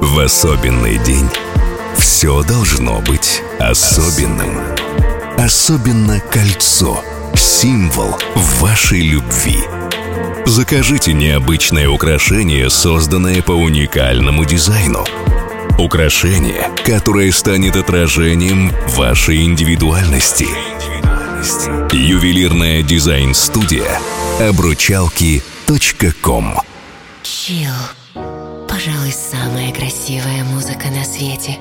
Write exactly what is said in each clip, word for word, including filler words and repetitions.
В особенный день все должно быть особенным. Особенно кольцо — символ вашей любви. Закажите необычное украшение, созданное по уникальному дизайну. Украшение, которое станет отражением вашей индивидуальности. Ювелирная дизайн-студия обручалки точка ком. Чилл. Пожалуй, самая красивая музыка на свете.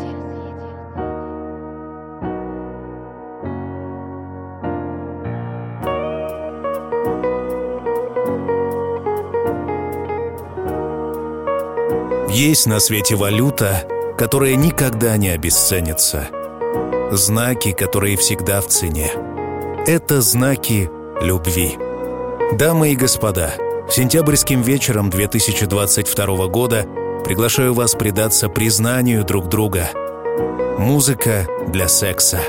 Есть на свете валюта, которая никогда не обесценится. Знаки, которые всегда в цене. Это знаки любви. Дамы и господа, сентябрьским вечером две тысячи двадцать второго года приглашаю вас предаться признанию друг друга. Музыка для секса.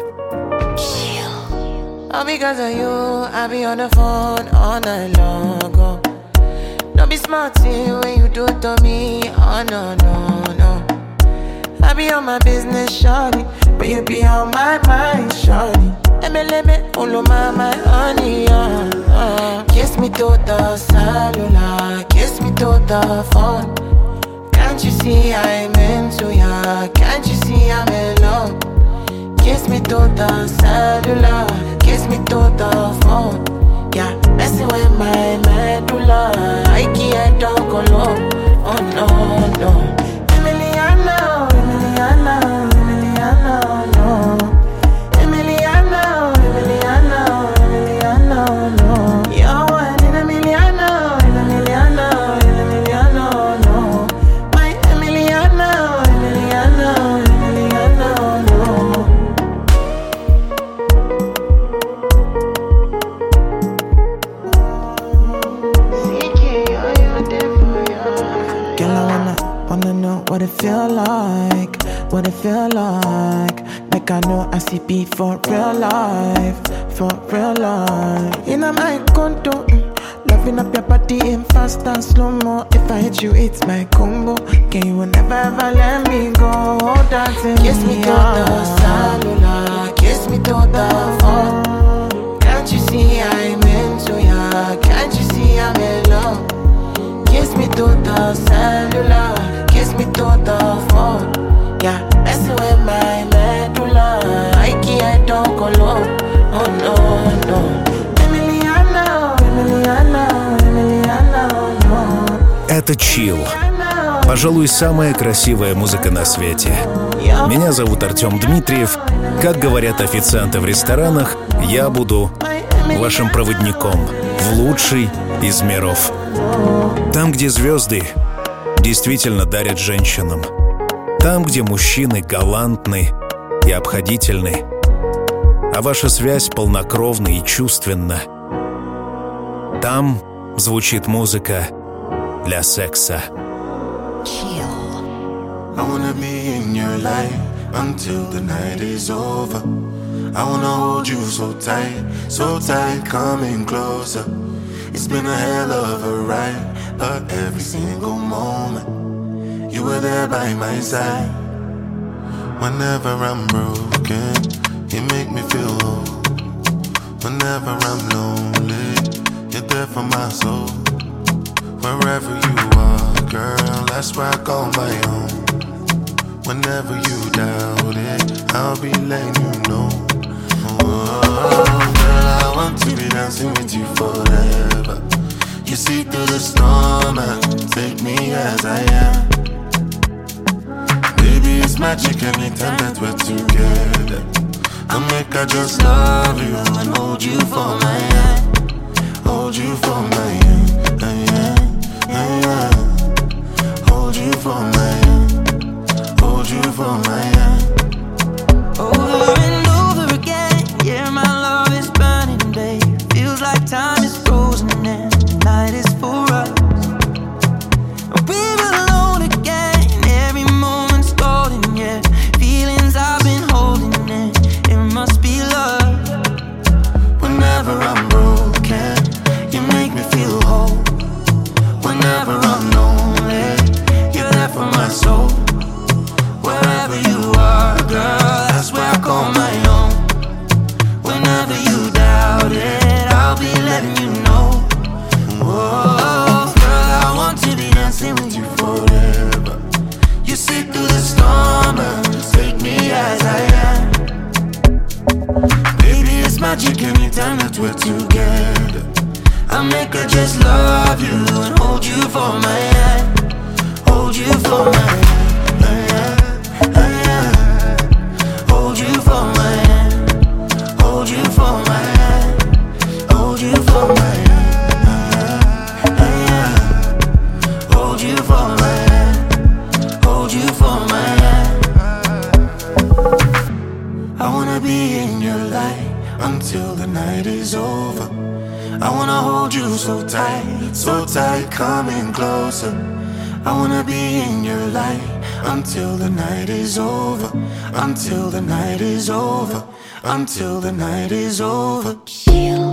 All because of you, I be on the phone all night long. Oh. Don't be smart when you do it to me. Oh no, no, no. I be on my business, shawty, but you be on my mind, shawty. Let me, let me, follow my, my honey, uh, uh. Kiss me to the cellular, kiss me to the phone. Can't you see I'm into ya? Can't you see I'm in love? Kiss me to the cellular, kiss me to the phone. Yeah, messing with my medulla. I can't talk alone. Oh no, no. Emiliano, Emiliano, Emiliano, no. Emiliano, Emiliano, Emiliano, no. You're one in a Emiliano, in Emiliano, in Emiliano, no. My Emiliano, Emiliano, Emiliano, no. Wanna know what it feel like, what it feel like. Like I know I see beat for real life, for real life. In my condo, mm, loving up your body in fast and slow-mo. If I hit you, it's my combo. Can you never ever let me go? Dancing kiss me to the cellular, kiss me to the phone. Can't you see I'm into ya? Can't you see I'm in love? Kiss me to the cellular, kiss me to the phone. Yeah, messing with my medulla. I can't talk alone. Oh no, no. Emiliano, Emiliano, Emiliano, no. Это чилл. Пожалуй, самая красивая музыка на свете. Меня зовут Артем Дмитриев. Как говорят официанты в ресторанах, я буду вашим проводником в лучший из миров. Там, где звезды действительно дарят женщинам. Там, где мужчины галантны и обходительны. А ваша связь полнокровна и чувственна. Там звучит музыка для секса. I wanna be in your life until the night is over. I wanna hold you so tight, so tight, coming closer. It's been a hell of a ride, but every single moment you were there by my side. Whenever I'm broken, you make me feel whole. Whenever I'm lonely, you're there for my soul. Wherever you are, girl, that's where I call my own. Whenever you doubt it, I'll be letting you know. Oh, girl, I want to be dancing with you forever. You see through the storm and take me as I am. Baby, it's magic anytime that we're together. I'll make I just love you and hold you for my hand. Hold you for my hand, hand, hand. Hold you for my hand. Hold you for my hand. Over and over again, yeah, my love is burning, babe. Feels like time is frozen and the night is for us. We're alone again, every moment's golden, yeah. Feelings I've been holding in, it must be love. Whenever I'm broken, you make me feel whole. Whenever I'm lonely, you're there for my soul. forever. You see through the storm and take me as I am. Baby, it's magic anytime that we're together. I make her just love you and hold you for my hand. Hold you for my hand. Hold you for my hand. Hold you for my hand. Hold you for my hand. Hold you for my hand. Hold you for my hand. I wanna be in your light until the night is over. I wanna hold you so tight, so tight, coming closer. I wanna be in your light until the night is over. Until the night is over. Until the night is over. Chill.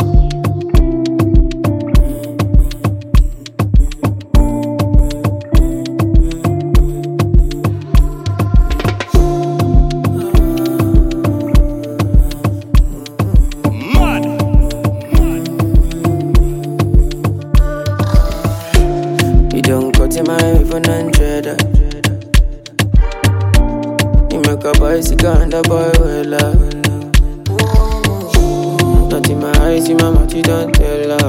And the boy will love. Not in my eyes, in my mouth, you don't tell her.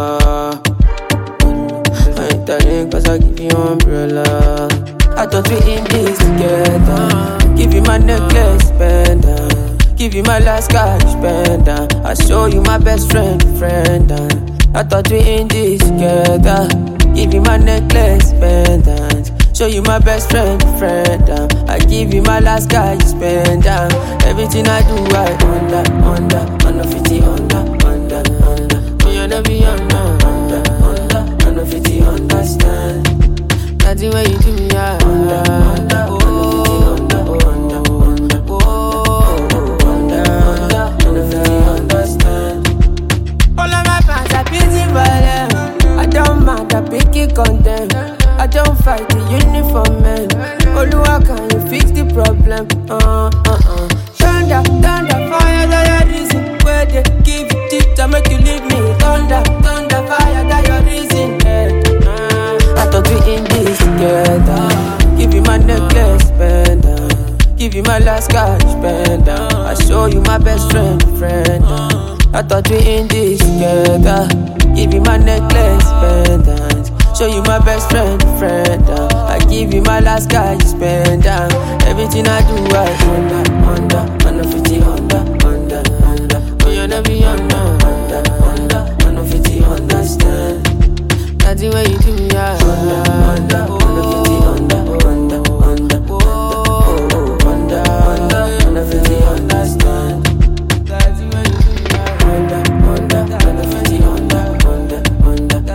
I ain't telling cause I give you umbrella. I thought we in this together. Give you my necklace, pendant. Give you my last cash, pendant. I show you my best friend, friend. I thought we in this together. Give you my necklace, pendant. Show you my best friend, friend. Uh. I give you my last guy, you spend down. Uh. Everything I do, I under, under, under fifty, under, under, under. Me under be under, under, under, under fifty, understand. Nothing when you do me, I under, under, under, under, under, under, under, under fifty, understand. All of my fans are busy for them. I don't mind, I pick it condemn. I don't fight the uniform man. Oluwa, can you fix the problem? Uh, uh, uh. Thunder, thunder, fire, that your reason. Where they give you tip to make you leave me. Thunder, thunder, fire, that your reason. Yeah. Uh, I thought we in this together. Give you my necklace, pendant. Give you my last cash, pendant. I show you my best friend, friend. Uh, I thought we in this together. Give you my necklace, pendant. Show you my best friend, friend. Uh. I give you my last guy, you spend down. Uh. Everything I do, I under, under, under fifty, under, under, under. Oh, you never be under, under, under, under fifty, understand. Nothing when you do me, I under, under, under fifty, under, under, under, under, under, under fifty, understand. Nothing when you do me, I under, under, under fifty, under, under, under, under.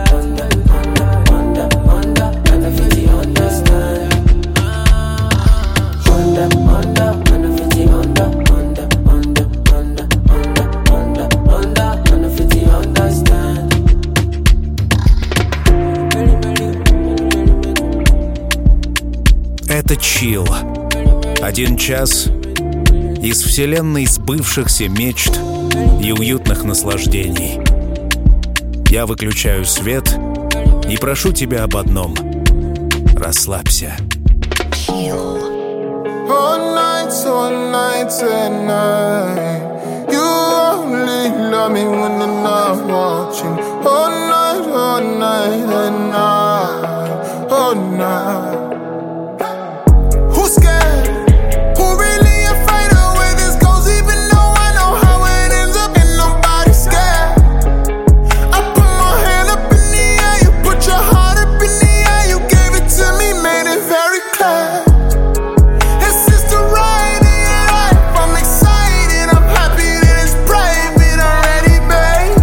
Это чил. Один час из вселенной сбывшихся мечт и уютных наслаждений. Я выключаю свет и прошу тебя об одном. Расслабься. Chill. All night, all night, and night. You only love me when I'm not watching. All night, all night, and night. All night. Who's scared? Who really afraid of where this goes? Even though I know how it ends up, and nobody's scared. I put my hand up in the air, you put your heart up in the air. You gave it to me, made it very clear. It's just the ride in your life. I'm excited, I'm happy that it's private already, babe.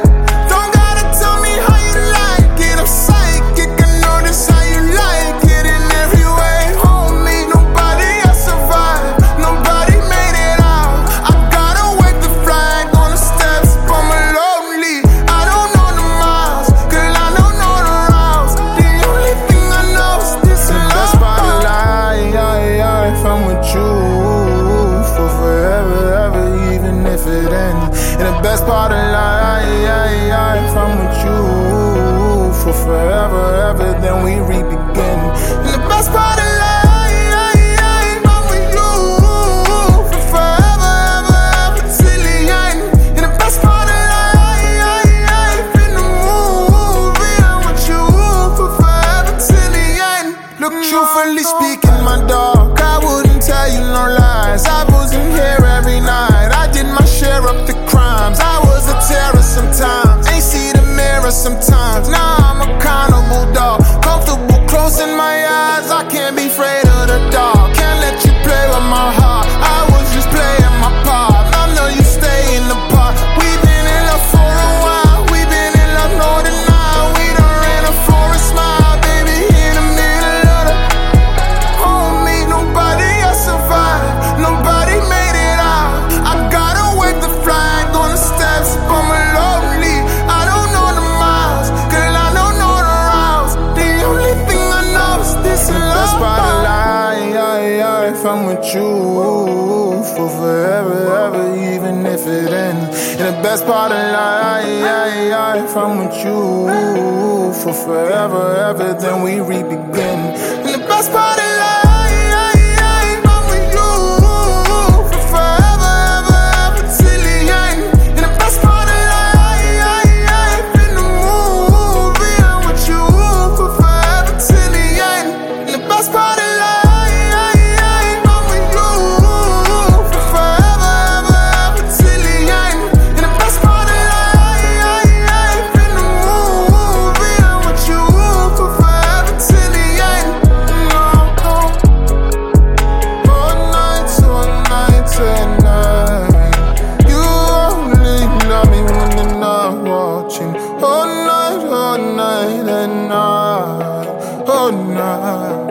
Don't gotta tell me how you like it, I'm psychic, I notice how you like it. Look, truthfully speaking, my dog, I wouldn't tell you no lies. I wasn't here every night. I did my share of the crimes. I was a terror sometimes. Ain't see the mirror sometimes. Now I'm accountable, dog. Comfortable closing my eyes. I can't be afraid of the dark. Can't let you play with my heart. I was just playing my part. I know you stay in the park. We've been in love for a while. We've been in love more than now. We done ran a forest smile, baby, in the middle of the homie. Nobody else survived. Nobody made it out. I gotta wave the flag on the steps, but I'm lonely. I don't know the miles, girl, I don't know the routes. The only thing I know is this love. That's why the lie, I, I, if I'm with you for forever, ever, even if it ends. And the best part of life, I, I, if I'm with you for forever, ever, then we re-begin. And the best part of life, if I'm with you for forever, ever, ever, till the end. And the best part of life, in the movie, I'm with you for forever, till the end. And the best part of life, I'm with you for forever, ever, ever, till the end. And the best part of life, in the movie, I'm with you for forever, till the end. No, no. All night, all night, tonight. You only love me when you're not watching. All night, all night, and night, all night.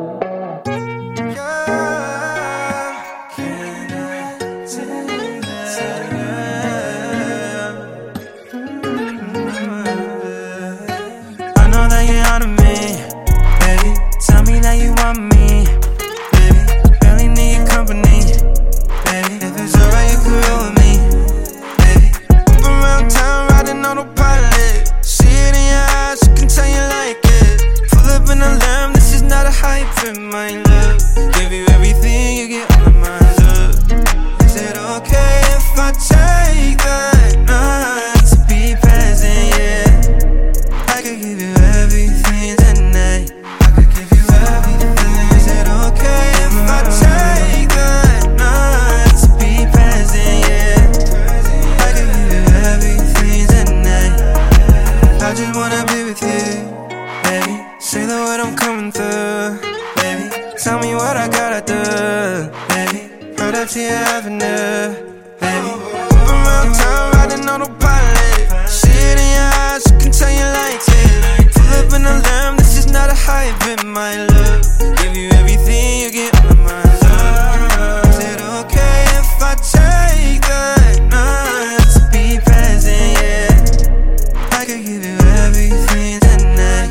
I know that you're out of me, baby. Tell me that you want me, baby. Barely need your company, baby. If it's alright, you can roll with me, baby. Up around town, riding autopilot. See it in your eyes, you can tell you like it. Pull up in a lamb, this is not a hype in my love. Give you everything, you get all of mine up. Is it okay if I take that night to be present, yeah? I could give you everything tonight. I could give you everything. Is it okay if I take that night to be present, yeah? I could give you everything tonight. I just wanna be with you, baby. Say the word, I'm coming through, baby. Tell me what I gotta do, baby. Right up to your avenue, baby. Up around town, riding autopilot. See it in your eyes, you can tell you like it. Pull up in a lamb, this is not a hype in my love. Give you everything, you get all of mine up. Is it okay if I take that night to be present, yeah? I could give you everything tonight.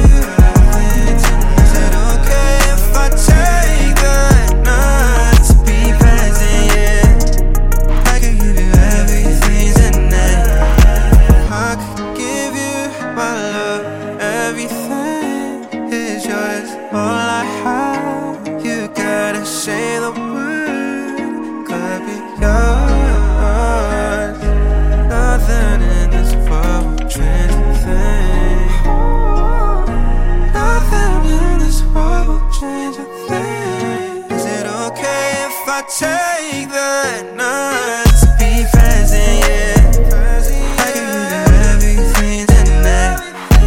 Is it okay if I take that night to be present, yeah? I could give you everything tonight. I could give you my love. Everything is yours. All I have, you gotta say the word. Could be yours. Nothing in this world will change a thing. Nothing in this world will change a thing. Is it okay if I take that night to be present, yeah? I can give you everything tonight.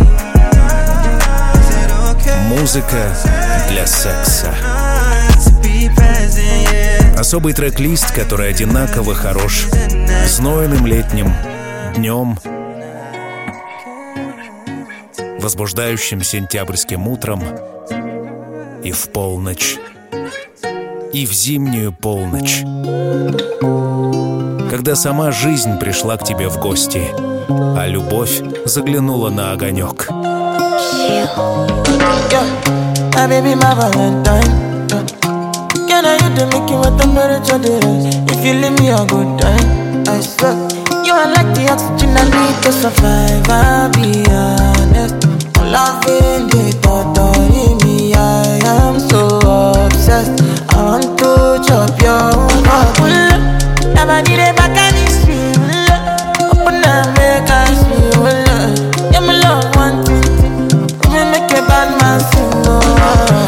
Is it okay? Музыка для секса. To be present, yeah. Особый трек-лист, который одинаково хорош знойным летним днем, возбуждающим сентябрьским утром и в полночь, и в зимнюю полночь, когда сама жизнь пришла к тебе в гости, а любовь заглянула на огонек. Yeah, my baby, my Valentine. Yeah. Can I you to make you what temperature it is? If you leave me a good time, I swear. You are like the oxygen I need to survive, I'll be honest. I'm loving the thought of me, I am so obsessed. I want to chop your heart. Never did it back and it's real. Open up, make us feel. Yeah, my love, one thing. We make a bad man sing, oh.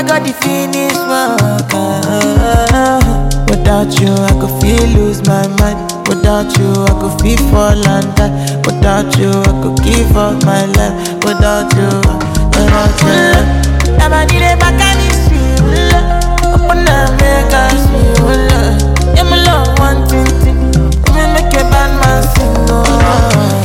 got the finish work. Without you, I could feel lose my mind. Without you, I could feel fall and die. Without you, I could give up my life. Without you, without you. Never need a back and it's you. Open up, make us you. Yeah, my love, one thing, thing. Me make a bad man sing. Oh.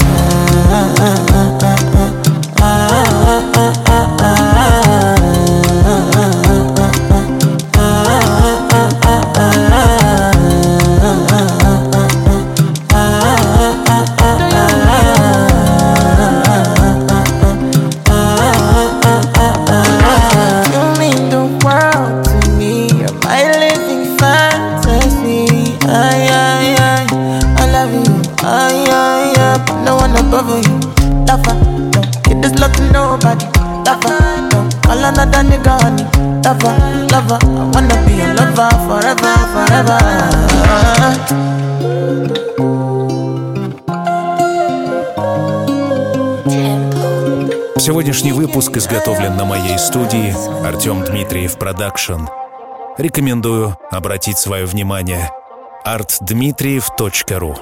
Another nigga honey, lover, lover. I wanna be a lover forever, forever. Сегодняшний выпуск изготовлен на моей студии Артем Дмитриев Продакшн. Рекомендую обратить свое внимание арт дмитриев точка ру.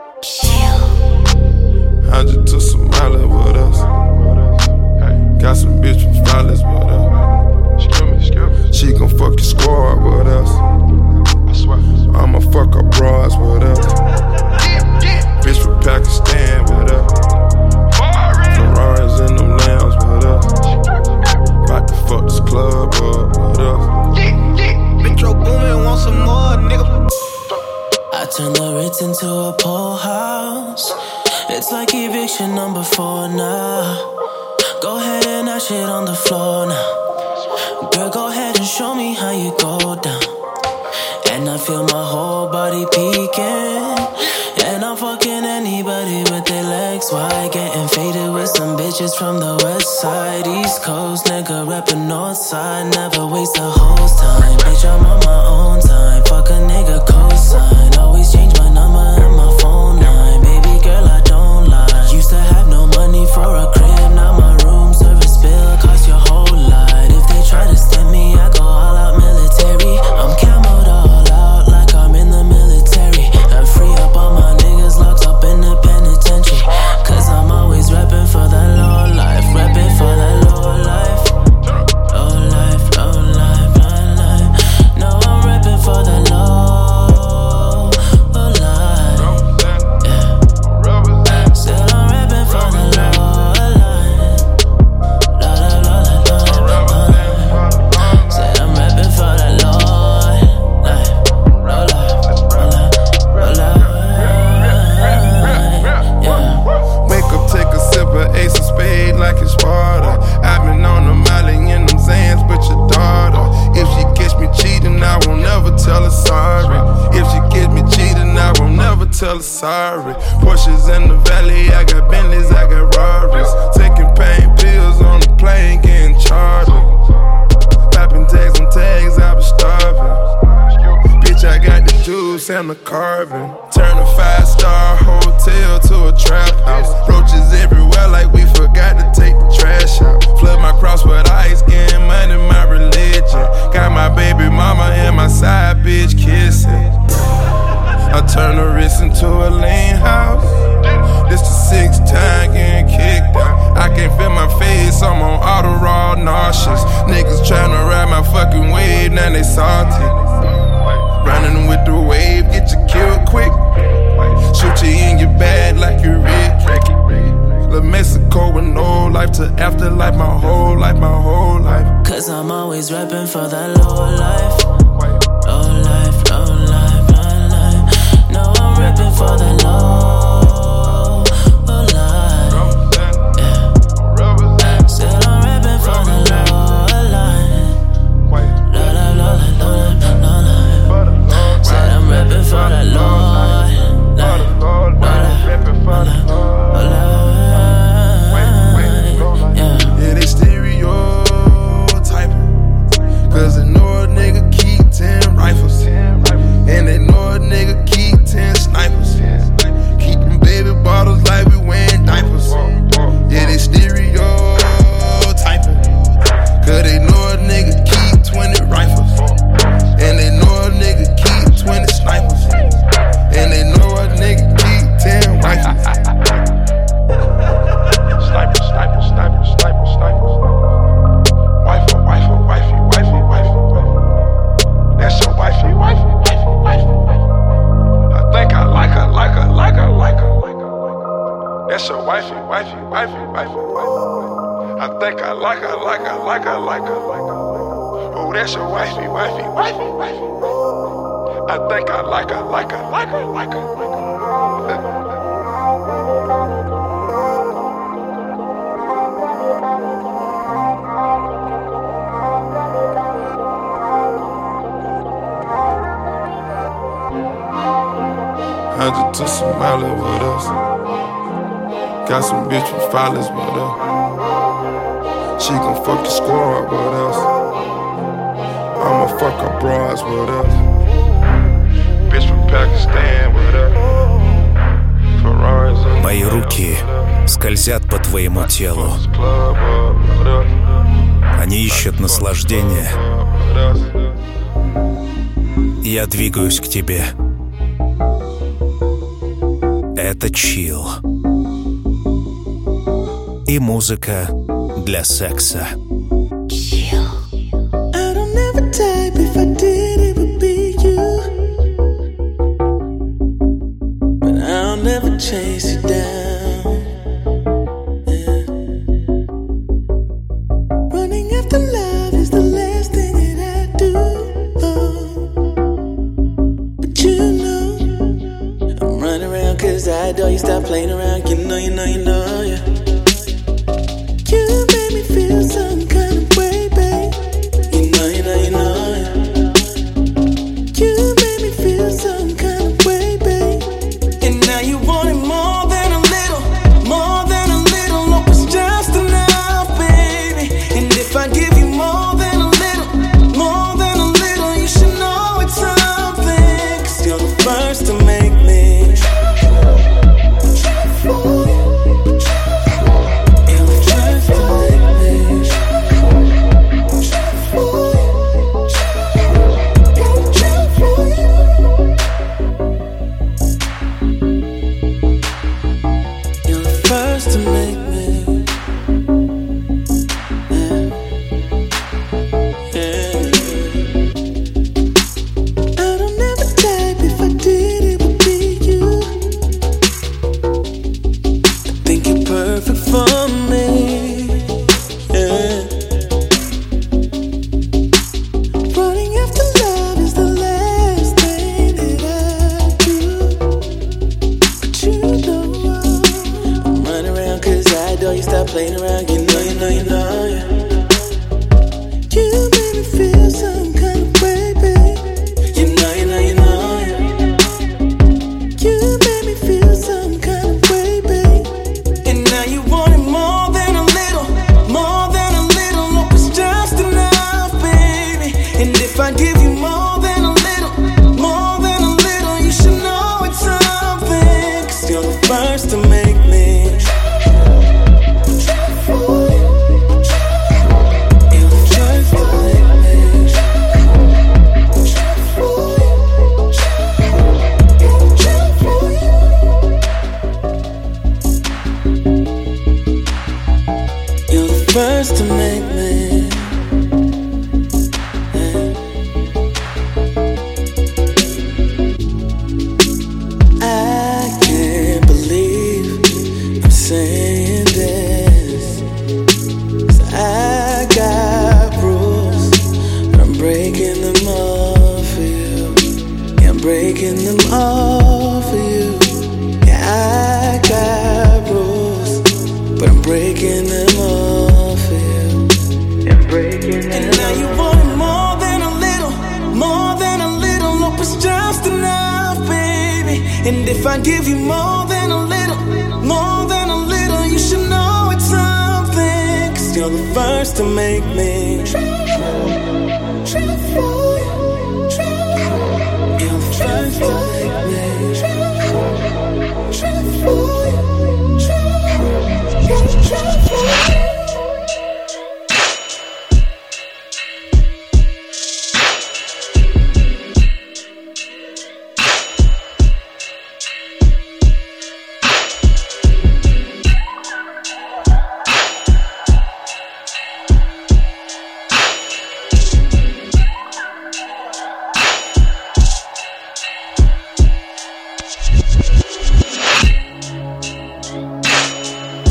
Got some bitch from Flawless with us. She gon' fuck your squad with us. I'ma fuck her bras with us. Bitch from Pakistan with us. Ferraris in them lambs with us. About to fuck this club up with us. Metro Boomin, want some more, nigga. I turn the Ritz into a pool house. It's like eviction number four now. Go ahead and that shit on the floor now. Girl, go ahead and show me how you go down. And I feel my whole body peeking. And I'm fucking anybody with their legs wide. Getting faded with some bitches from the west side. East Coast, nigga reppin' north side. Never waste a hoe's time. Bitch, I'm on my own time. Fuck a nigga cosign. Always change my number and my phone line. Baby girl, I don't lie. Used to have no money for a crib. Now my room service bill cost your whole lot. If they try to stem me, I go all out military. I'm camoed all out like I'm in the military. And free up all my niggas locked up in the penitentiary. Cause I'm always reppin' for that low life. Reppin' for that low life. Low life, low life, low life. No, I'm reppin' for that low, low life. Yeah. Said I'm reppin' for the low. Ace of spade like it's Sparta. I've been on the molly in them Zans, but your daughter. If she catch me cheating, I won't never tell her sorry. If she catch me cheating, I won't never tell her sorry. Porsches in the valley, I got Bentleys, I got Rarries. Taking pain pills on the plane, getting chartered. Popping tags on tags, I was starving. Bitch, I got the juice and the carbon. Turn a five-star hotel to a trap house. Roaches everywhere like we forgot to take the trash out. Flood my cross with ice, getting money, my religion. Got my baby mama and my side bitch kissing. I turn the wrist into a lean house. This the sixth time getting kicked out. I can't feel my face, I'm on auto raw nauseous. Niggas tryna ride my fucking wave, now they salty. Running with the wave, get you killed quick. Shoot you in your bag like you Rick. La Mexico with no life to afterlife, my whole life, my whole life. Cause I'm always reppin' for that low life. Low life, low life, low life. No, I'm reppin' for that low, low life. Yeah. Said I'm reppin' for the low life. Low life, low life, low life, low life. Said I'm reppin' for that low life. Yeah, they stereotyping. Cause they know wifey, wifey, wifey, wifey, wifey. I think I like her, like her, like her, like her, like her. Oh, that's your wifey, wifey, wifey, wifey. I think I like her, like her, like her, like her, like her. I just took some Molly with us. Got some bitch with followers with us. She gon' fuck the squad with us. I'ma fuck her bras with us. Bitch from Pakistan with us. Ferraris. Мои руки скользят по твоему телу. Они ищут наслаждения. Я двигаюсь к тебе. Это чилл. И музыка для секса. Chase you down, yeah. Running after love is the last thing that I do, oh. But you know I'm running around cause I adore you. Stop playing around, you know, you know, you know, yeah. You made me feel some kind of way, babe. You know, you know, you know, yeah. You made me feel some kind of way, babe. And now you want it more than a little, more than a little. No, it's just enough, baby. And if I give you more than a little, more than a little, you should know it's something. Cause you're the first to make me. You're the first to make me. First to make me, yeah, yeah. I don't ever type, if I did it would be you. I think you're perfect for me, yeah. Running after love is the last thing that I do. But you know cause I adore you, stop playing around, you know, you know, you know, yeah. You made me feel some kind of way, babe. You know, you know, you know, yeah. You made me feel some kind of way, babe. And now you want it more than a little, more than a little. No, it's just enough, baby. And if I give you more than a little, more than a little, you should know it's something. Cause you're the first to make me. First to make me, yeah. I can't believe I'm saying this, 'cause I got rules, but I'm breaking them all for you. Yeah, I'm breaking them all for you. Yeah, I got rules, but I'm breaking them all. And now you want it more than a little, more than a little. No, it's just enough, baby. And if I give you more than a little, more than a little, you should know it's something. Cause you're the first to make me. You're the first to make me.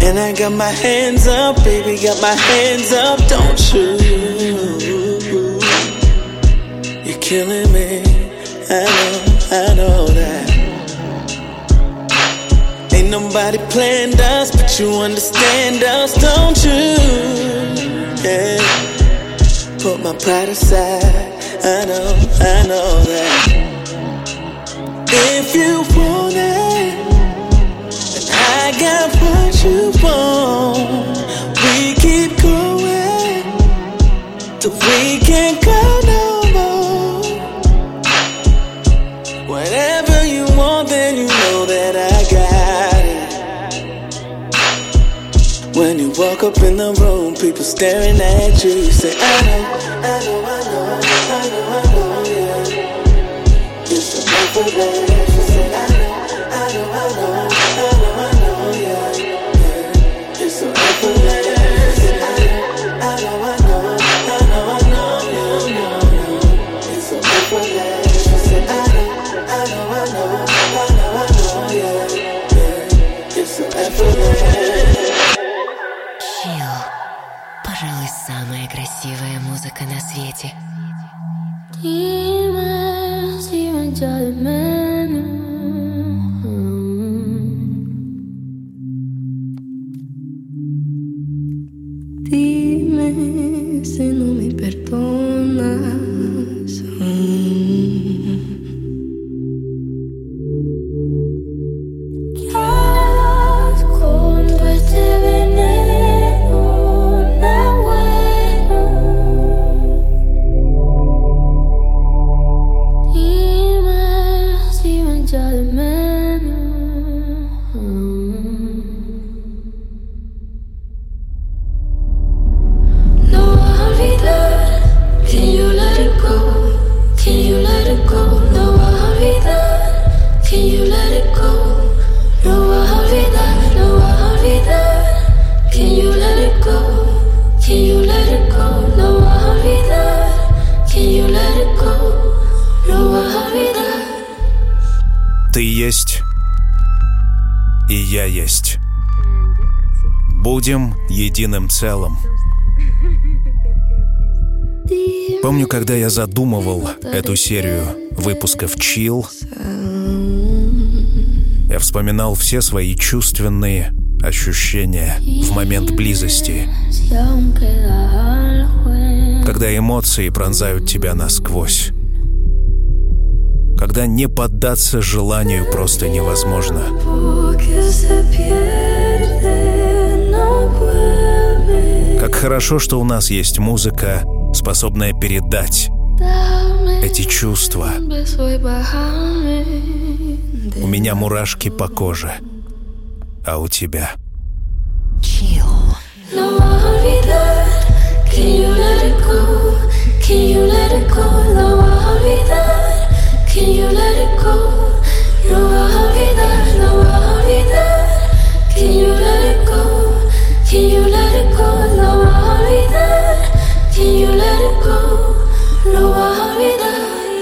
And I got my hands up, baby, got my hands up, don't you? You're killing me, I know, I know that. Ain't nobody planned us, but you understand us, don't you? Yeah. Put my pride aside, I know, I know that. If you want it, then I got what you want. We keep going till we can't go no more. Whatever you want, then you know that I got it. When you walk up in the room, people staring at you, you say, I know, I know, I know, I know, I know, yeah. It's so effortless. You say, I know, I know, I know, I know, I know, yeah, yeah. It's so effortless. You say, I know, I know, I know, I know, I know, yeah, yeah, yeah. It's so effortless. You say, I know, I know, I know, I know, I know, yeah, yeah. It's so effortless. Пожалуй, самая красивая музыка на свете. Dime si me echa de menos. Dime si no me perdonas. ¿Qué harás con todo este veneno? No bueno. Dime si me echa de menos. No vas a olvidar. Can you let it go? Can you let it go? No vas a olvidar. Can you let it go? No vas a olvidar. No vas a olvidar. Can you let it go? Can you let it go? No vas a olvidar. Can you let it go? No vas a olvidar. Ты есть, и я есть. Будем единым целым. Помню, когда я задумывал эту серию выпусков Chill, я вспоминал все свои чувственные ощущения в момент близости, когда эмоции пронзают тебя насквозь, когда не поддаться желанию просто невозможно. Как хорошо, что у нас есть музыка, способная передать эти чувства. У меня мурашки по коже, а у тебя? No vas a olvidar. Can you let it go? Can you let it go? No vas a olvidar. Can you let it go? No vas a olvidar. No vas a olvidar. Can you let it go? Can you let it go? No vas a olvidar. Can you let it go? No vas a olvidar.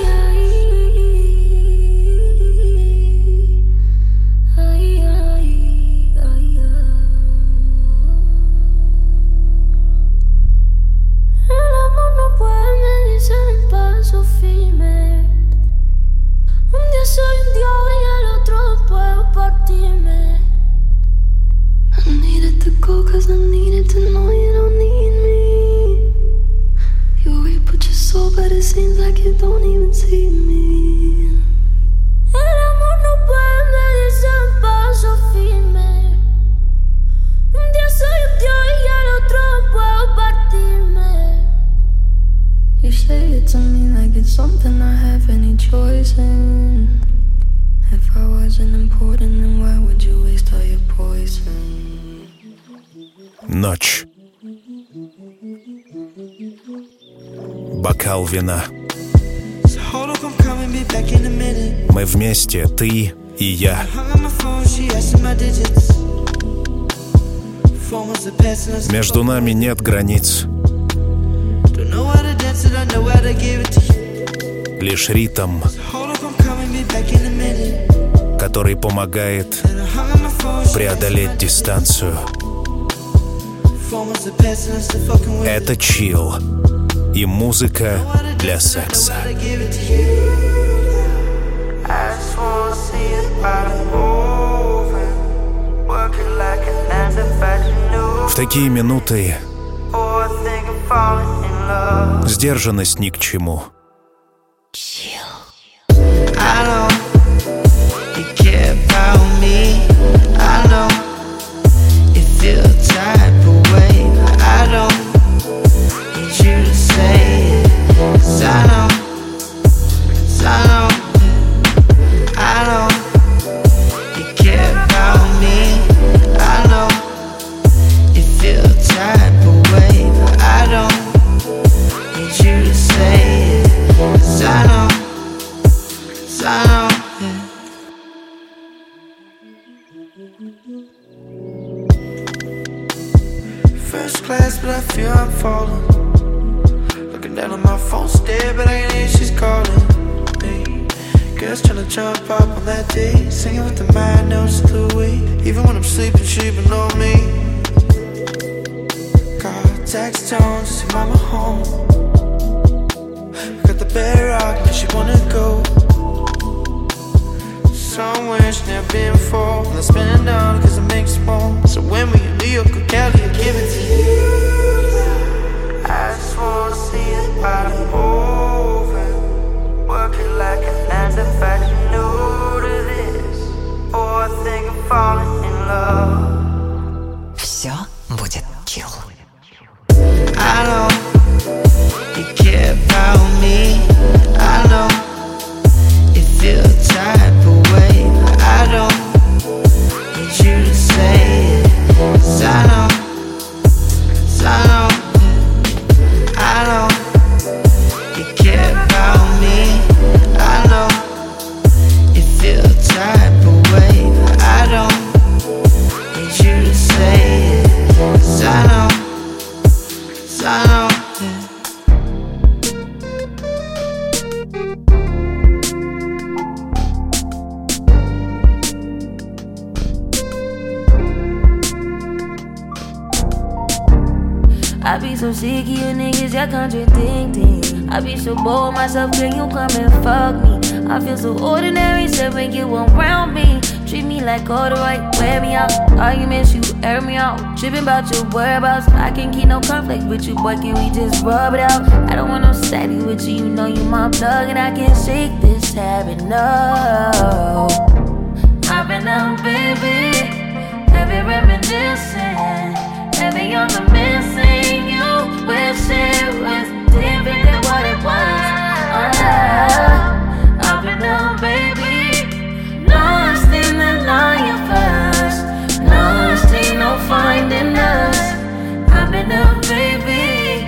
El amor no puede medirse en paso firme. Un día soy un dios y el otro puedo partirme. I needed to go cause I needed to know you don't need me. You reap what you sow, but it seems like you don't even see me. El amor no puede medirse en paso firme. Un día soy un dios y el otro puedo partirme. You say it to me like it's something I have any choice in. If I wasn't important, then why would you waste all your poison? Ночь. Бокал вина. Мы вместе, ты и я. Между нами нет границ. Лишь ритм, который помогает преодолеть дистанцию. Это чилл и музыка для секса. В такие минуты сдержанность ни к чему. First class, but I feel I'm falling. Looking down on my phone, stare, but I can hear she's calling me. Girls tryna jump up on that day, singing with the mind, no, it's too weak. Even when I'm sleeping, she been on me. Got text tones to see mama home. Got the bed rock, but she wanna go somewhere she's never been before. Let's spend it down cause it makes more. So when we in New York or Cali, I give it to you. I just wanna see it body moving. Working like a nine to five, you new to this. Oh, I think I'm falling in love. Все будет chill. I know you care about me. I know you feel type of way. I don't need you to say it. Cause I know, cause I know, I know you care about me. I know you feel type of way. I don't need you to say it. Cause I know, cause I know. I be so sick of you niggas, y'all contradicting. I be so bored myself, can you come and fuck me? I feel so ordinary, so when you around me. Treat me like all the right, wear me out. Arguments, you air me out. Tripping about your whereabouts. I can't keep no conflict with you, boy, can we just rub it out? I don't want no steady with you, you know you my plug. And I can't shake this habit, no. I've been out, baby, heavy reminiscing. Heavy on the missing you. Wish it was different than what it was. uh, I've been out, baby, lost in the lion first. Lost, ain't no finding us. I've been out, baby.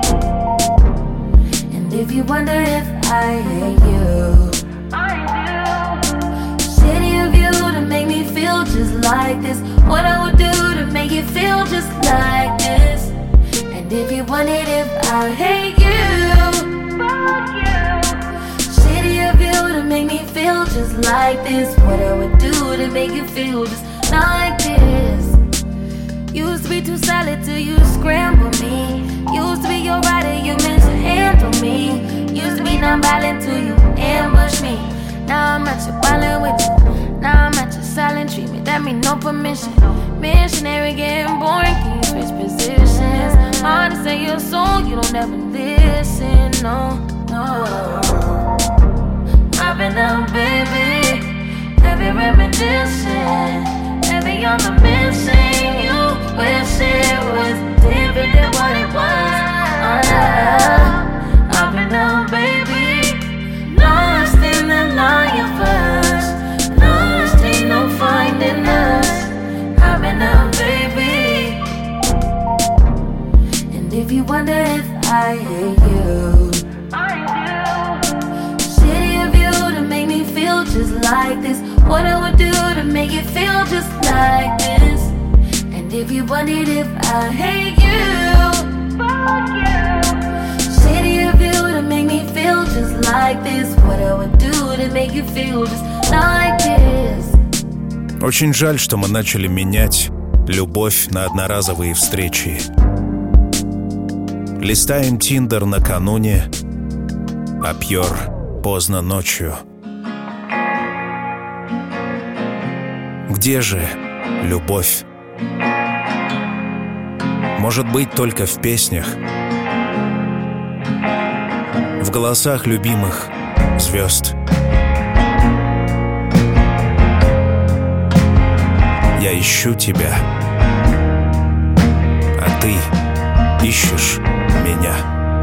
And if you wonder if I hate you, I do. City of you to make me feel just like this. What I would do to make you feel just like this. And if you wondered if I hate you, fuck you. City of you to make me feel just like this. What I would do to make you feel just like this. Used to be too solid till you scramble me. Used to be your rider, you meant to handle me. Used to be non-violent till you ambush me. Now I'm at your violent with you. Now I'm at your silent treatment, that mean no permission. Missionary getting boring, can you switch positions? Hard to say your soul, you don't ever listen, no, no. I've been out, baby, heavy reminiscing. Heavy on the missing you. Wish it was different than what it was. uh, I've been out, baby, lost in the lion first. Ain't no finding us. I've been out, baby. And if you wonder if I hate you, I do. City of you to make me feel just like this. What I would do to make you feel just like this. And if you wondered if I hate you, fuck you. City of you to make me feel just like this. What I would do to make you feel just like this. Очень жаль, что мы начали менять Любовь на одноразовые встречи. Листаем Тиндер накануне, а пьер поздно ночью. Где же любовь? Может быть, только в песнях, в голосах любимых звезд. Я ищу тебя, а ты ищешь меня.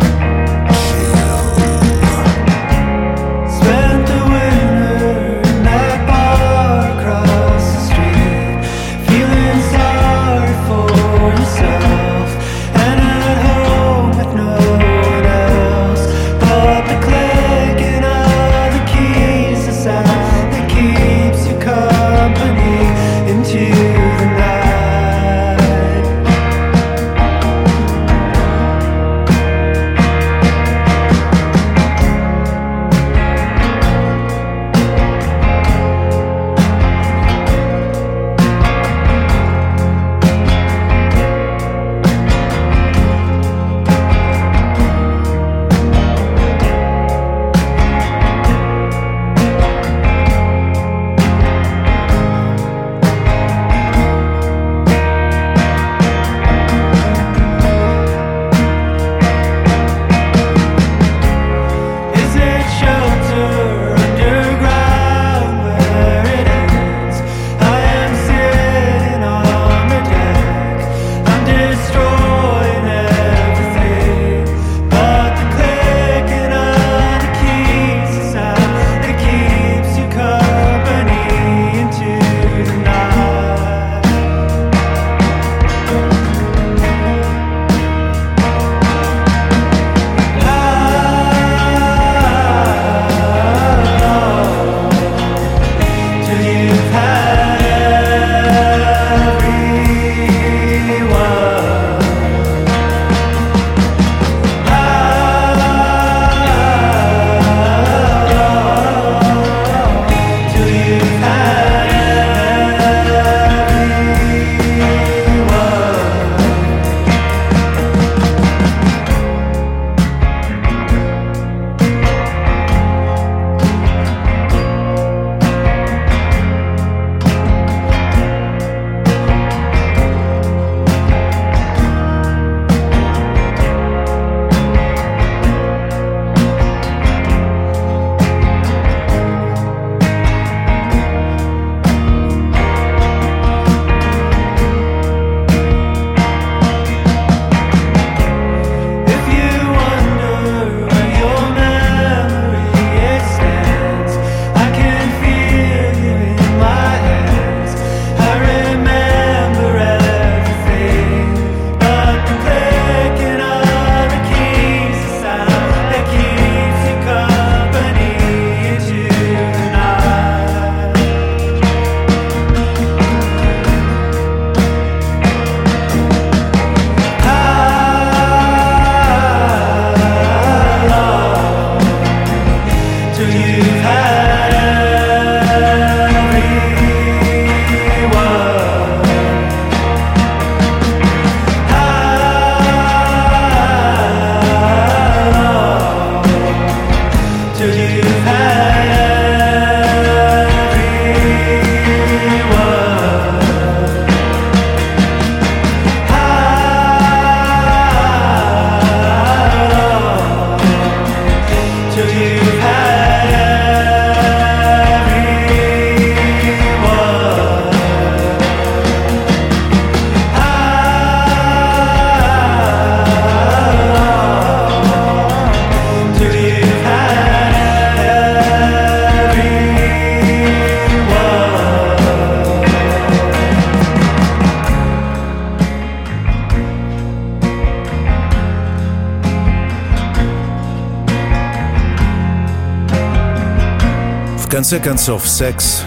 В конце концов, секс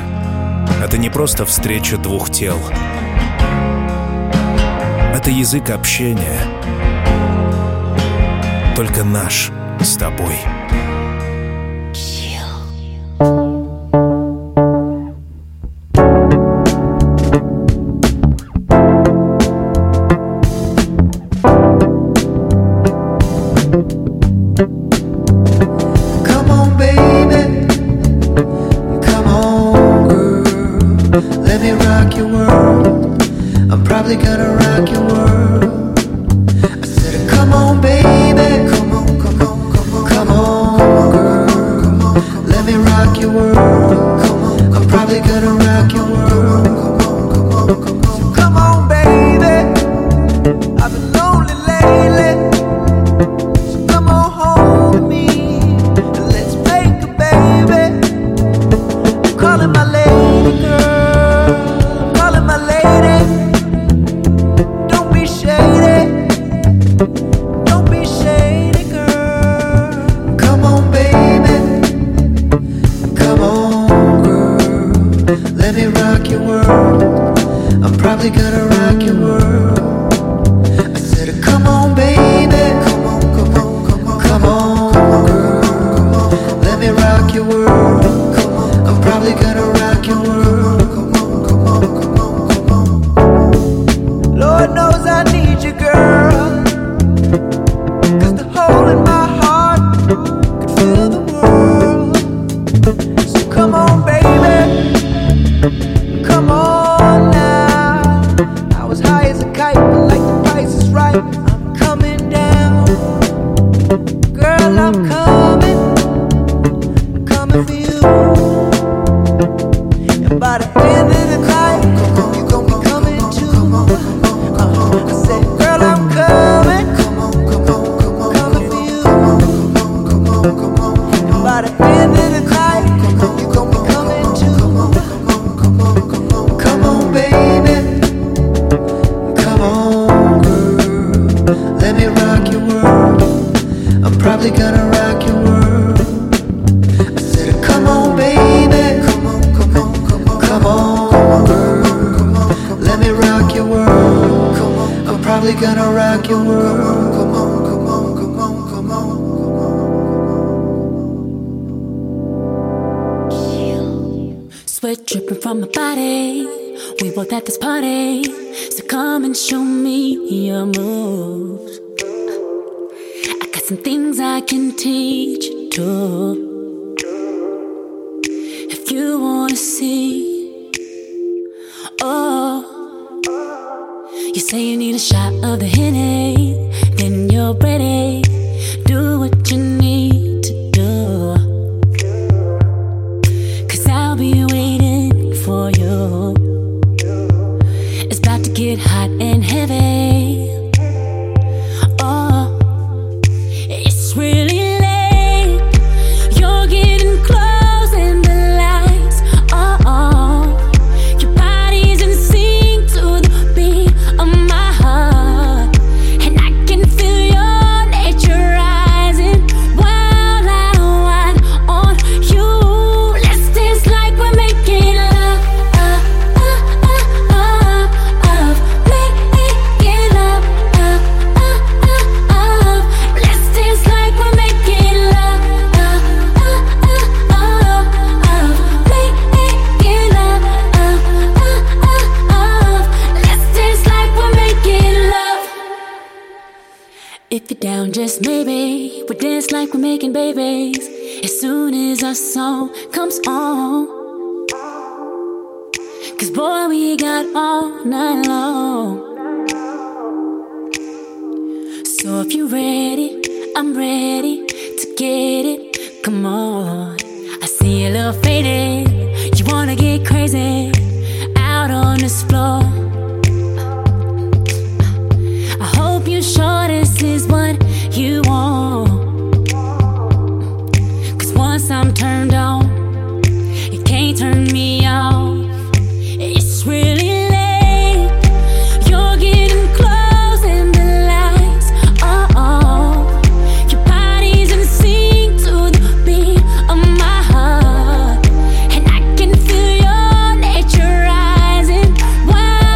— это не просто встреча двух тел. Это язык общения, только наш с тобой. rock your world. I'm probably gonna rock your world. I said, come on, baby. Come on, come on, come on, come on, girl. Come on, let me rock your world. Come on, I'm probably gonna rock your world. Come on, come on, come on. Come on, baby. I've been lonely lately. So come on home to me and let's make a baby. I'm calling my lady, girl. I'm calling my lady. Don't be shady. Don't be shady, girl. Come on, baby. Come on, girl. Let me rock your world. I'm probably gonna rock your world. I said, come on, baby. Come on, come on, come on, come on, girl. Come on, let me rock your world. Come on, I'm probably gonna rock your world. Come on, come on, come on, come on. Lord knows I need you, girl. 'Cause the hole in my heart could fill the world. So come on, baby. Come on now. I was high as a kite, but like the price is right, I'm coming down. Girl, I'm coming. I'm coming for you. And by the end of the night, you gon' be coming too. Uh, I said, girl, I'm coming. Coming for you. And by the end of the night, you gon' be coming too. Come on, baby. Come on, girl. Let me rock your world. I'm probably gonna rock your world. I said, come on, baby. Come on, come on, come on, come on, girl. Come on, let me rock your world. Come on, I'm probably gonna rock your world. Come on, come on, come on, come on, come on. Sweat dripping from my body. We both at this party, so come and show me your moves. I got some things I can teach you too. If you wanna see, oh, you say you need a shot of the Henny, then you're ready. Do what you need to do, 'cause I'll be waiting for you. It's about to get hot and heavy. Oh, it's really late. You're getting close and the lights are on. Your body's in sync to the beat of my heart, and I can feel your nature rising wild and wild on you. Let's dance like we're making love, uh, uh, uh, uh, uh, making love, uh, uh, uh, uh. Let's dance like we're making love, uh, uh, uh, uh, uh, making love, uh, uh, uh, uh. Let's dance like we're making love. If you're down, just maybe we'll dance like we're making babies as soon as our song comes on. 'Cause boy, we got all night long. So if you're ready, I'm ready to get it. Come on, I see you a little faded. You wanna get crazy out on this floor. I hope you're sure this is what you want. 'Cause once I'm turned on, you can't turn me off. It's really late. You're getting close and the lights are on. Your body's in sync to the beat of my heart, and I can feel your nature rising wild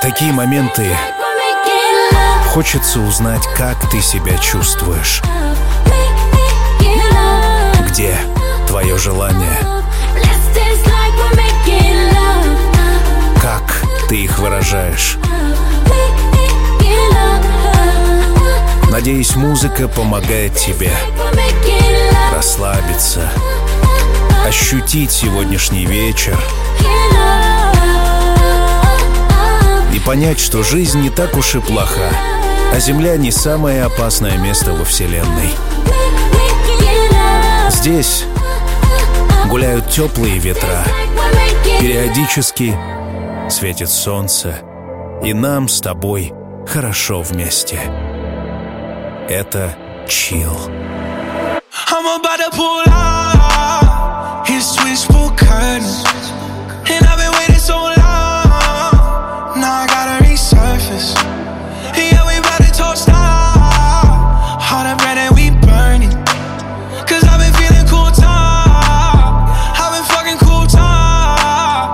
такие моменты хочется узнать, как ты себя чувствуешь. Где твое желание? Как ты их выражаешь? Надеюсь, музыка помогает тебе расслабиться, ощутить сегодняшний вечер и понять, что жизнь не так уж и плоха, а Земля не самое опасное место во Вселенной. Здесь гуляют теплые ветра, периодически светит солнце, и нам с тобой хорошо вместе. Это чилл. I'm about to pull out his switchboard curtains, and I've been waiting so long. Now I gotta resurface. Yeah, we about to toast out all the bread that we burning. Cause I've been feeling cool talk, I've been fucking cool talk.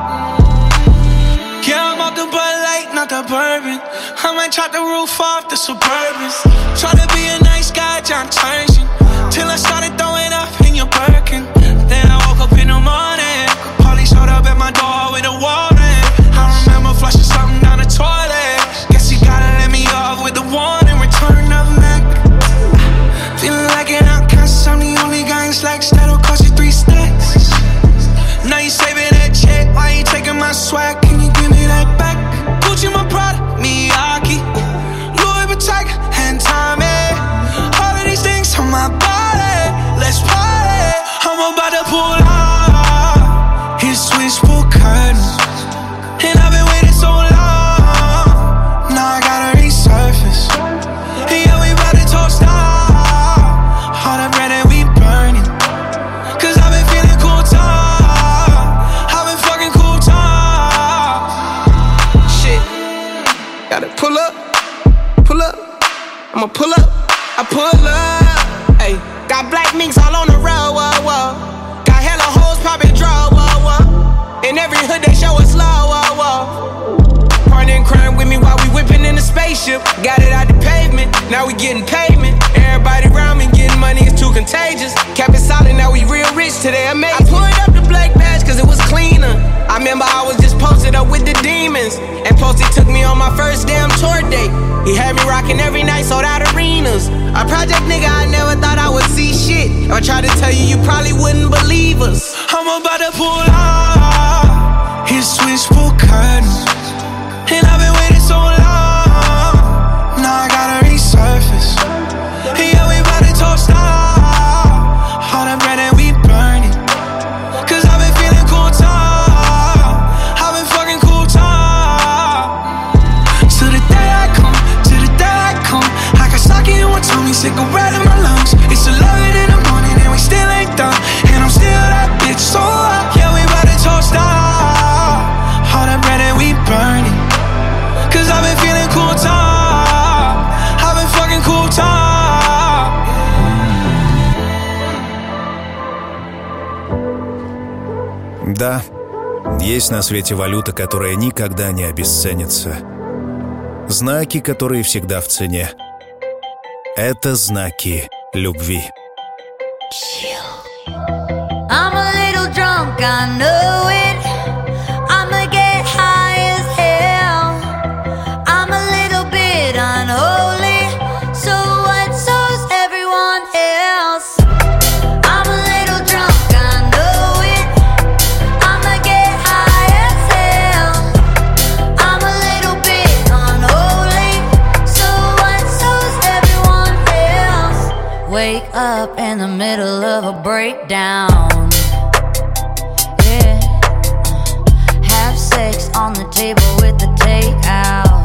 Yeah, I'm off the Bud Light, not the bourbon. I might chop the roof off the Suburbans. Try to be a nice guy, John Turgeon, till I started throwing up in your Birkin. Then I woke up in the morning, police showed up at my door with a warrant. I remember flushing something down the toilet. Guess you gotta let me off with the warning. Return of Mac. Feeling like an outcast, I'm the only guy in slacks that'll cost you three stacks. Now you saving that check, why you taking my swag? Can you give me that back? Gucci my product, Miyake, Louis Vuitton and Tommy. All of these things on my body, let's party. I'm about to pull out his switchboard curtains, and I've been waiting so long. Now I gotta resurface. Yeah, we about to toast out all the bread that we burning. Cause I've been feeling cool talk, I've been fucking cool talk. Shit, gotta pull up, pull up, I'ma pull up, I pull up. Ayy, got black minks all on the road, whoa, whoa. Got hella hoes poppin' draw, whoa, whoa. In every hood they show us love, whoa, whoa. Partner in crime with me while we whippin' in the spaceship. Got it out the pavement, now we getting payment. Everybody around me getting money, it's too contagious. Kept it solid, now we real rich today, amazing. I pulled up the black badge cause it was cleaner. I remember I was just posted up with the demons, and Posty took me on my first damn tour date. He had me rocking every night, sold out arenas. A project nigga, I never thought I would see shit. If I tried to tell you, you probably wouldn't believe us. I'm about to pull out his switchboard curtains, and I've been waiting so long. Now I gotta resurface. Yeah, we about to toast out all the bread that we burning. Cause I've been feeling cool talk, I've been fucking cool talk. To the day I come, to the day I come, Hakasaki in one tummy, cigarette in my lungs. It's eleven in the morning and we still ain't done, and I'm still that bitch so up. Yeah, we about to toast out all the bread that we burning. Cause I've been feeling cool talk, I've been fucking cool talk. Да, есть на свете валюта, которая никогда не обесценится. Знаки, которые всегда в цене. Это знаки любви. I'm a little drunk, I know it. I'ma get high as hell. I'm a little bit unholy, so what so's everyone else? I'm a little drunk, I know it. I'ma get high as hell. I'm a little bit unholy, so what so's everyone else? Wake up in the middle of a breakdown. Yeah. Have sex on the table with the takeout.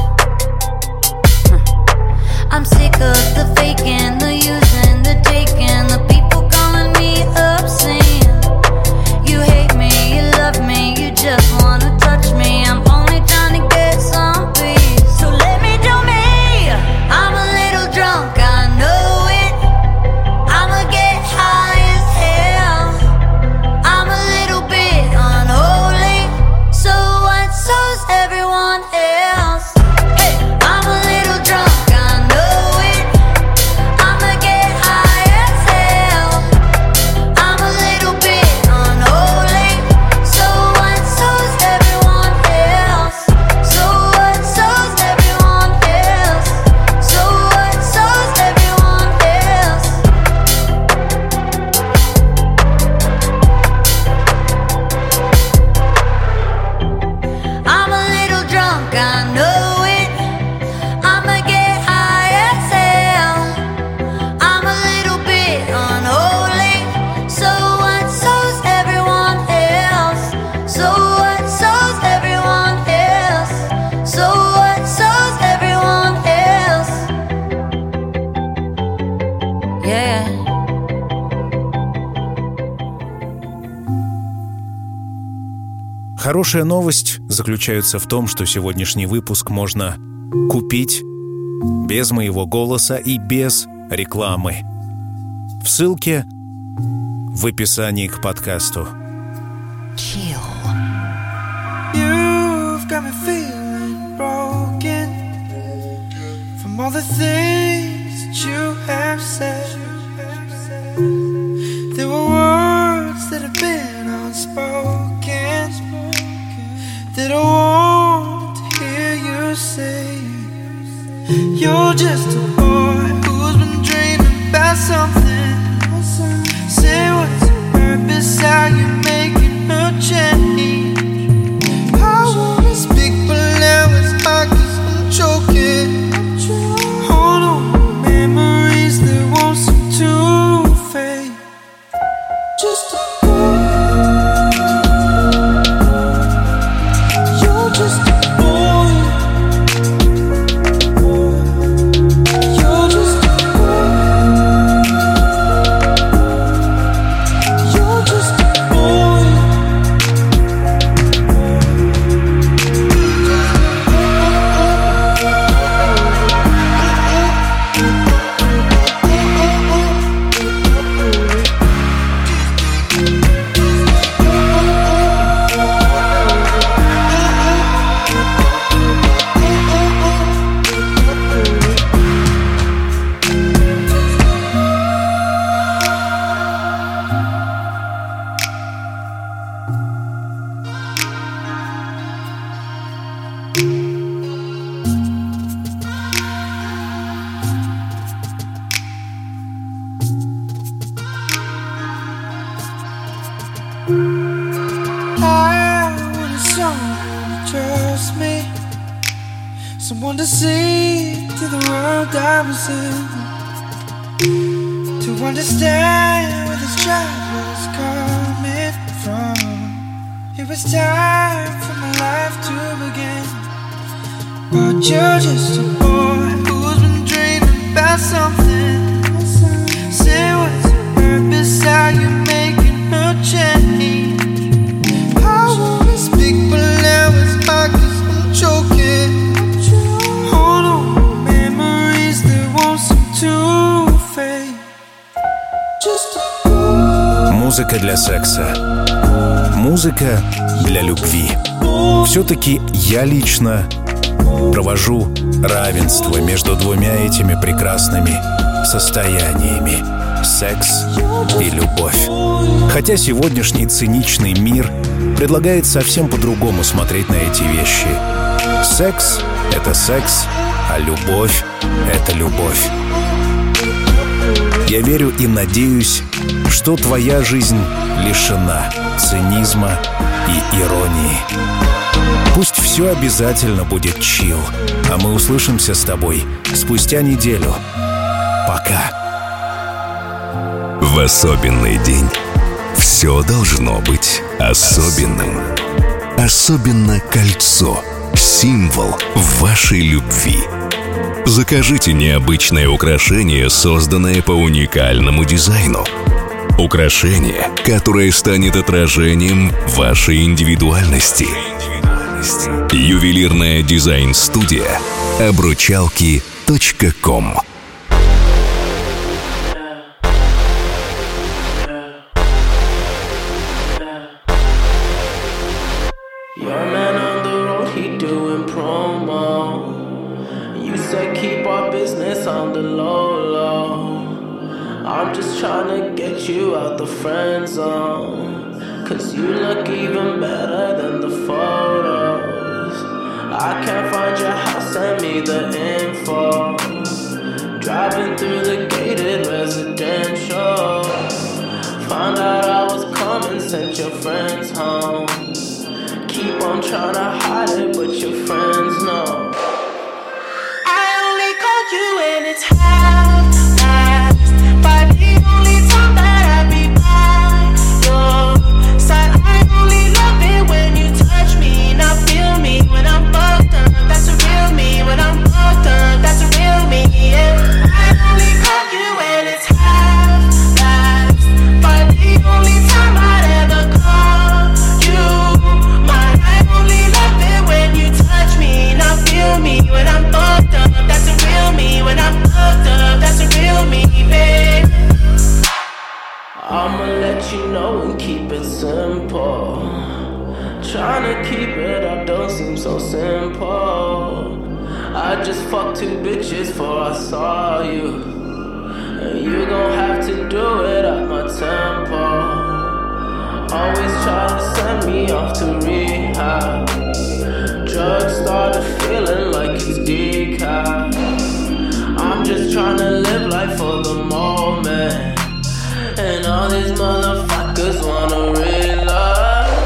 Huh. I'm sick of the faking, the using, the taking, the people calling me obscene. You hate me, you love me, you just wanna touch me. I'm only trying to get some peace, so let me do me. I'm a little drunk, I know it. I'ma get high as hell. I'm a little bit unholy, so what so's Хорошая новость заключается в том, что сегодняшний выпуск можно купить без моего голоса и без рекламы. В ссылке в описании к подкасту. Chill. You've got me feeling broken from all the things that you have said. There were words that have been unspoken that I want to hear you say. You're just a boy who's been dreaming about something. Say what's your purpose, how you making her change. I wanna speak but now it's hard 'cause I'm choking. Hold on, memories that won't seem to fade. Just a boy. You're just a boy. You're just a boy. You're just a boy. I want someone to trust me, someone to see to the world I was in, to understand where this child was coming from. It was time for my life to begin, but you're just a boy who's been dreaming about something. Say what's your purpose, how you making her change. I wanna speak but now it's hard 'cause I'm choking. Hold on, memories that won't seem to fade. Just a boy. Музыка для секса. Музыка для любви. Все-таки я лично провожу равенство между двумя этими прекрасными состояниями — секс и любовь. Хотя сегодняшний циничный мир предлагает совсем по-другому смотреть на эти вещи. Секс — это секс, а любовь — это любовь. Я верю и надеюсь, что твоя жизнь лишена цинизма и иронии. Пусть все обязательно будет чил, а мы услышимся с тобой спустя неделю. Пока. В особенный день все должно быть особенным. Особенно кольцо — символ вашей любви. Закажите необычное украшение, созданное по уникальному дизайну. Украшение, которое станет отражением вашей индивидуальности. Ювелирная дизайн-студия обручалки точка ком. I'm just trying to get you out the friend zone, 'cause you look even better than the photos. I can't find your house, send me the info. Driving through the gated residential, found out I was coming, sent your friends home. Keep on trying to hide it, but your friends know. I only call you when it's half past, but the only time that I be by your side. I only love it when you touch me, not feel me when I'm fucked up. That's a real me when I'm fucked up. That's a real me, yeah. I only call you when it's half past, but the only time I'd ever call you my I just fucked two bitches before I saw you. And you gon' have to do it at my tempo. Always try to send me off to rehab. Drugs started feeling like it's decaf. I'm just tryna live life for the moment. And all these motherfuckers wanna relive.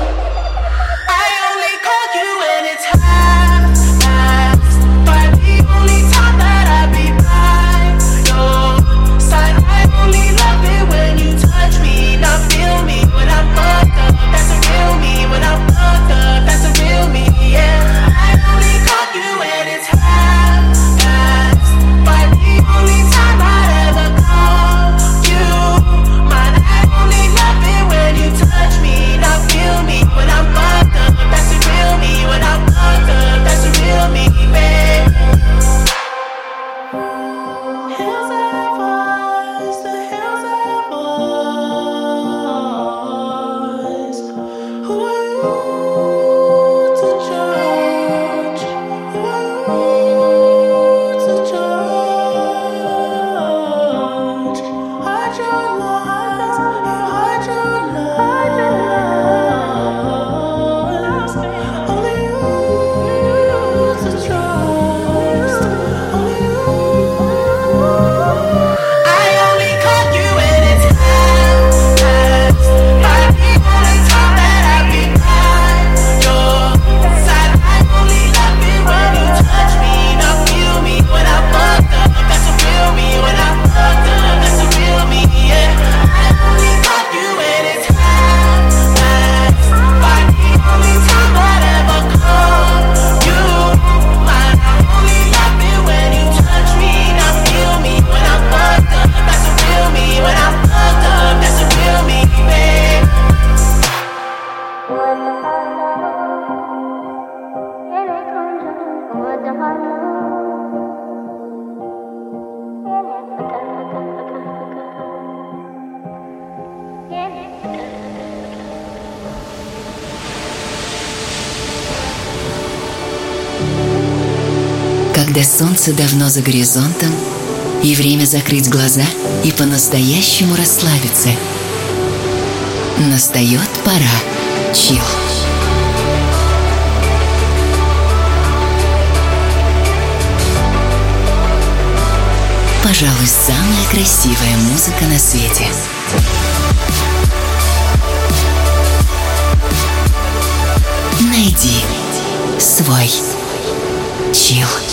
Когда солнце давно за горизонтом, и время закрыть глаза и по-настоящему расслабиться. Настает пора чил. Пожалуй, самая красивая музыка на свете. Найди свой чил.